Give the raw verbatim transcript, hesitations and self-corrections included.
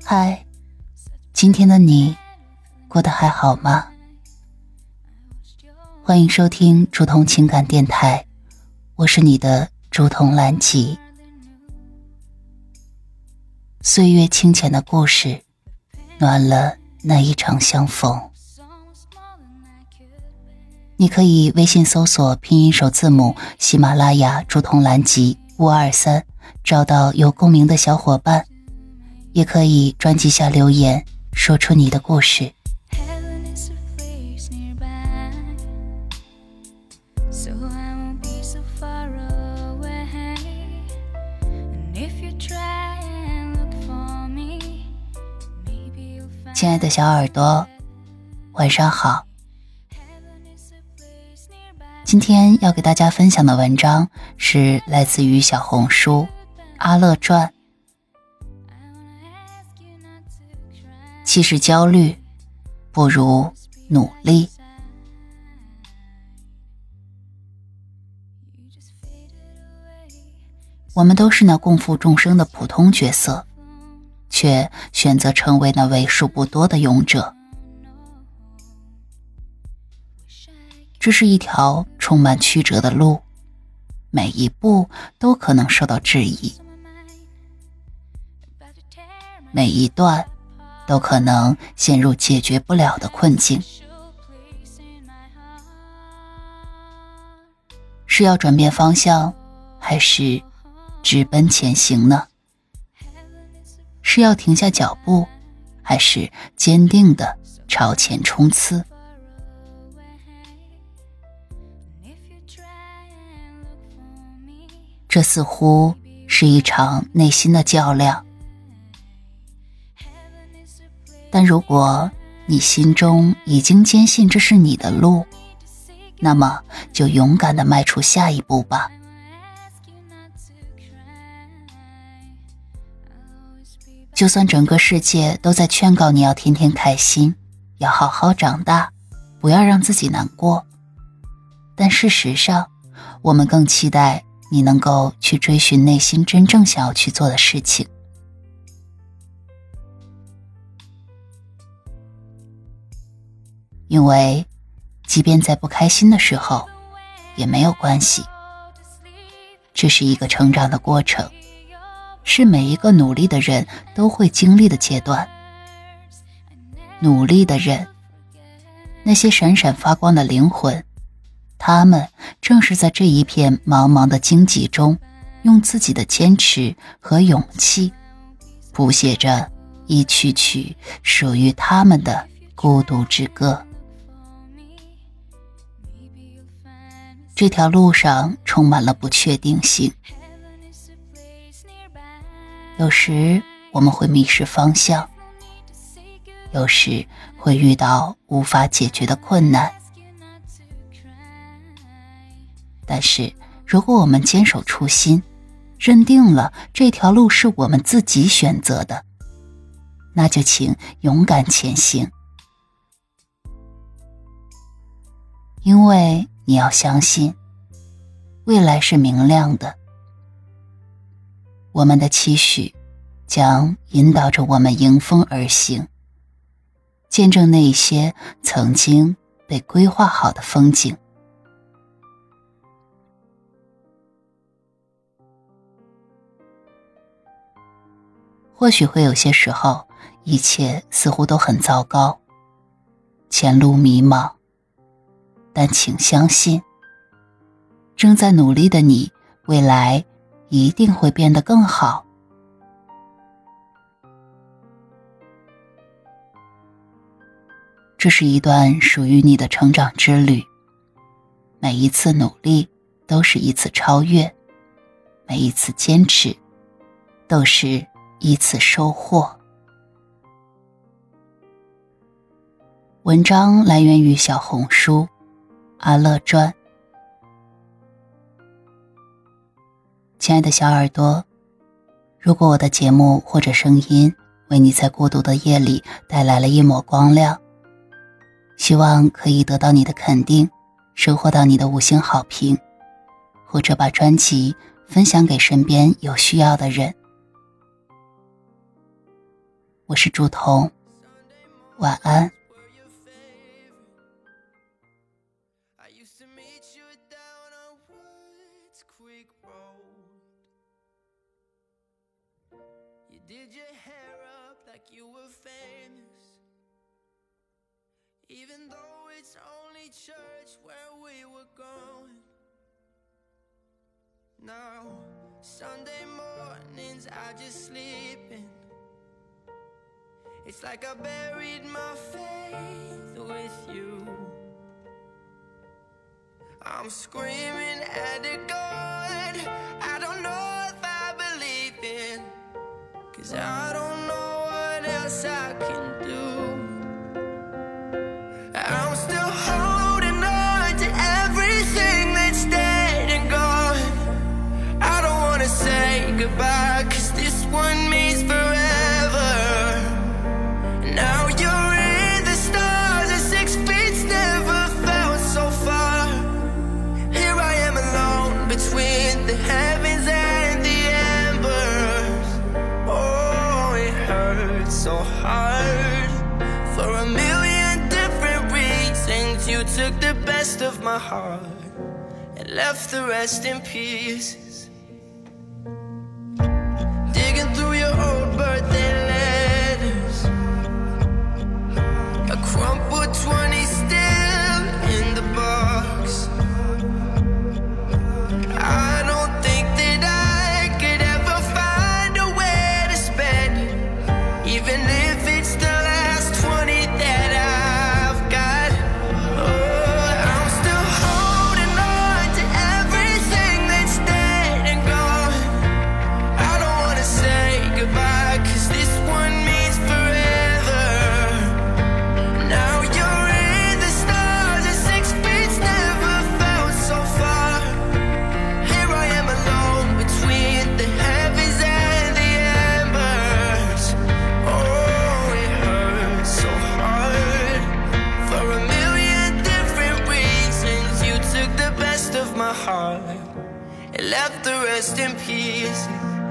嗨，今天的你过得还好吗？欢迎收听竹筒情感电台，我是你的竹筒兰吉。岁月清浅的故事，暖了那一场相逢。你可以微信搜索拼音首字母喜马拉雅竹筒兰吉五二三，找到有共鸣的小伙伴，也可以专辑下留言，说出你的故事。亲爱的小耳朵，晚上好。今天要给大家分享的文章是来自于小红书阿乐传。其实焦虑不如努力。我们都是那共赴众生的普通角色，却选择成为那为数不多的勇者。这是一条充满曲折的路，每一步都可能受到质疑，每一段都可能陷入解决不了的困境。是要转变方向，还是直奔前行呢？是要停下脚步，还是坚定地朝前冲刺？这似乎是一场内心的较量。但如果你心中已经坚信这是你的路，那么就勇敢地迈出下一步吧。就算整个世界都在劝告你要天天开心，要好好长大，不要让自己难过，但事实上，我们更期待你能够去追寻内心真正想要去做的事情。因为即便在不开心的时候也没有关系，这是一个成长的过程，是每一个努力的人都会经历的阶段。努力的人，那些闪闪发光的灵魂，他们正是在这一片茫茫的荆棘中，用自己的坚持和勇气谱写着一曲曲属于他们的孤独之歌。这条路上充满了不确定性，有时我们会迷失方向，有时会遇到无法解决的困难。但是如果我们坚守初心，认定了这条路是我们自己选择的，那就请勇敢前行。因为你要相信，未来是明亮的。我们的期许将引导着我们迎风而行，见证那一些曾经被规划好的风景。或许会有些时候，一切似乎都很糟糕，前路迷茫，但请相信，正在努力的你，未来一定会变得更好。这是一段属于你的成长之旅，每一次努力都是一次超越，每一次坚持都是一次收获。文章来源于小红书阿乐传。亲爱的小耳朵，如果我的节目或者声音为你在孤独的夜里带来了一抹光亮，希望可以得到你的肯定，收获到你的五星好评，或者把专辑分享给身边有需要的人。 我是朱彤，晚安。 Did your hair up like you were famous, even though it's only church where we were going. Now, Sunday mornings I just sleep in. It's like I buried my faith with you. I'm screaming at a God I don't know if I believe in, 'cause I don't know what else I can do. I'm still holding on to everything that's dead and gone. I don't wanna say goodbye, 'cause this one means forever. Now you're in the stars and six feet's never felt so far. Here I am alone between the heavens and the embers. Oh, it hurts so hard. For a million different reasons, you took the best of my heart and left the rest in pieces. Digging through your old birthday letters, a crumpled twenty still in the box. I don't think that I could ever find a way to spend it, even if it's the last twenty that I've got. Oh, I'm still holding on to everything that's dead and gone. I don't wanna say goodbye, 'cause this one means forever. Now you're in the stars and six feet's never felt so far. Here I am alone between the heavens and the embers. Oh, it hurts so hard. For a million different reasons, you took the best of my heart and left the rest in pieces.